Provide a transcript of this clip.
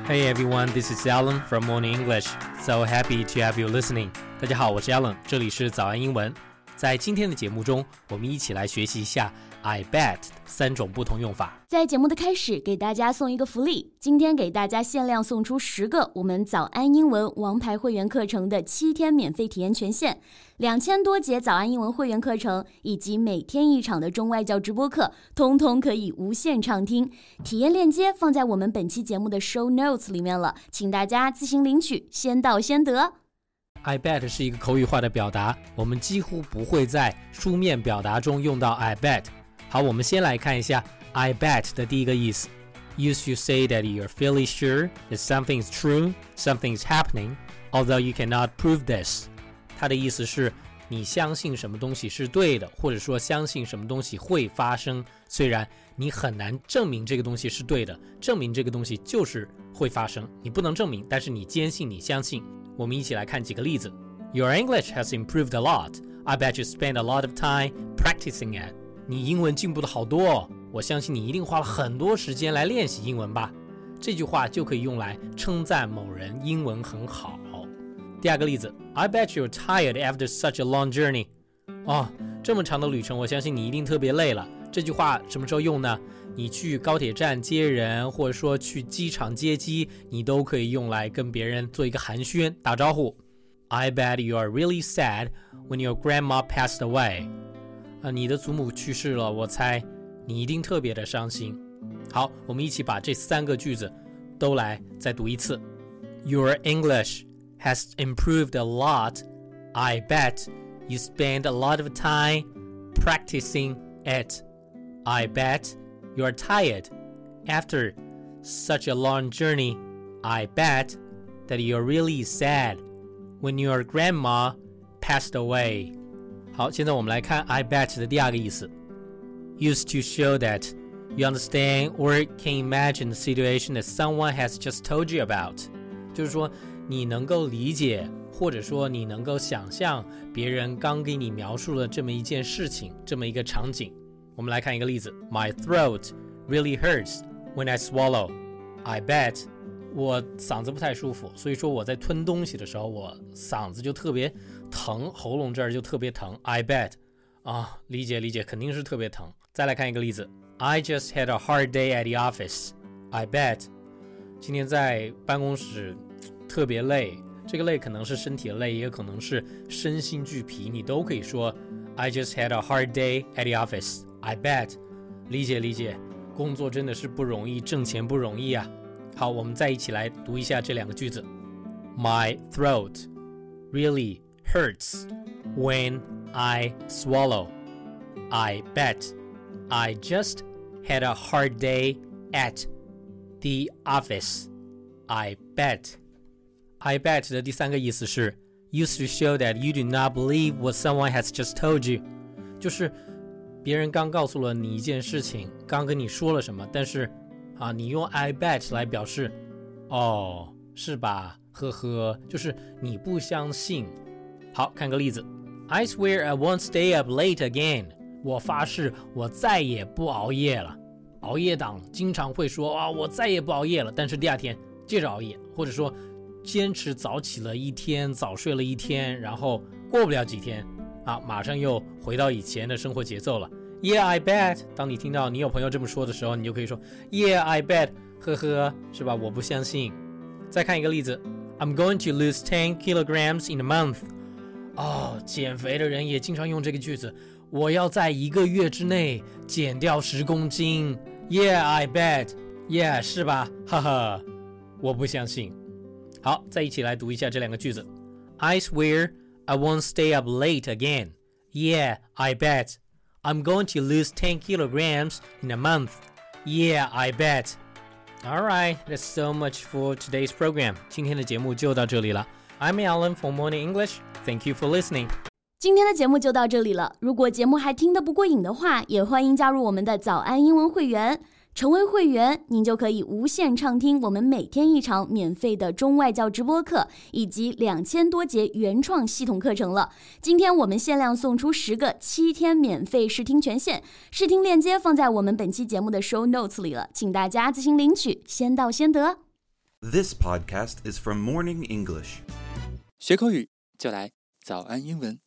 Hey everyone, this is Alan from Morning English. So happy to have you listening. 大家好，我是 Alan， 这里是早安英文。在今天的节目中，我们一起来学习一下 I bet 3种不同用法。 在节目的开始，给大家送一个福利，今天给大家限量送出10个我们早安英文王牌会员课程的7天免费体验权限，2000多节早安英文会员课程以及每天1场的中外教直播课，通通可以无限畅听。体验链接放在我们本期节目的 show notes 里面了，请大家自行领取，先到先得。 I bet 是一个口语化的表达，我们几乎不会在书面表达中用到 I bet。好，我们先来看一下 I bet 的第一个意思。Used to say that you're fairly sure that something is true, something is happening, although you cannot prove this. 它的意思是你相信什么东西是对的，或者说相信什么东西会发生，虽然你很难证明这个东西是对的，证明这个东西就是会发生，你不能证明，但是你坚信，你相信。我们一起来看几个例子。Your English has improved a lot. I bet you spend a lot of time practicing it. 你英文进步的好多哦，我相信你一定花了很多时间来练习英文吧。这句话就可以用来称赞某人英文很好。第二个例子 I bet you're tired after such a long journey. 这么长的旅程，我相信你一定特别累了。这句话什么时候用呢？你去高铁站接人，或者说去机场接机，你都可以用来跟别人做一个寒暄，打招呼。I bet you are really sad when your grandma passed away. 你的祖母去世了，我猜你一定特别的伤心。好，我们一起把这3个句子都来再读一次。Your English has improved a lot. I bet you spend a lot of time practicing it. I bet you're tired after such a long journey. I bet that you're really sad when your grandma passed away. 好，现在我们来看 I bet 的第二个意思。Used to show that you understand or can imagine the situation that someone has just told you about. 就是说你能够理解，或者说你能够想象别人刚给你描述了这么一件事情，这么一个场景。我们来看一个例子 My throat really hurts when I swallow. I bet 我嗓子不太舒服，所以说我在吞东西的时候，我嗓子就特别疼，喉咙这儿就特别疼。I bet 理解，肯定是特别疼。再来看一个例子 I just had a hard day at the office. I bet 今天在办公室特别累，这个累可能是身体的累，也可能是身心俱疲，你都可以说 I just had a hard day at the office. I bet 理解，工作真的是不容易，挣钱不容易啊。好，我们再一起来读一下这2个句子。My throat really hurts when I swallow. I bet I just had a hard day at the office. I bet. I bet 的第3个意思是 used to show that you do not believe what someone has just told you. 就是别人刚告诉了你一件事情，刚跟你说了什么，但是你用 I bet 来表示是吧，呵呵，就是你不相信。好，看个例子 I swear I won't stay up late again. 我发誓我再也不熬夜了。熬夜党经常会说我再也不熬夜了，但是第二天接着熬夜，或者说坚持早起了一天，早睡了一天，然后过不了几天马上又回到以前的生活节奏了。Yeah, I bet. 当你听到你有朋友这么说的时候，你就可以说 Yeah, I bet. 呵呵，是吧？我不相信。再看一个例子 I'm going to lose 10 kilograms in a month. 减肥的人也经常用这个句子，我要在1个月之内减掉10公斤。Yeah, I bet. Yeah, 是吧？哈哈，我不相信。好，再一起来读一下这2个句子 I swear I won't stay up late again. Yeah, I bet. I'm going to lose 10 kilograms in a month. Yeah, I bet. Alright, that's so much for today's program. 今天的节目就到这里了。I'm Alan from Morning English. Thank you for listening. 今天的节目就到这里了。如果节目还听得不过瘾的话，也欢迎加入我们的早安英文会员。成为会员，您就可以无限畅听我们每天1场免费的中外教直播课，以及2000多节原创系统课程了。今天我们限量送出10个7天免费试听权限，试听链接放在我们本期节目的 show notes 里了，请大家自行领取，先到先得。 This podcast is from Morning English. 学口语就来早安英文。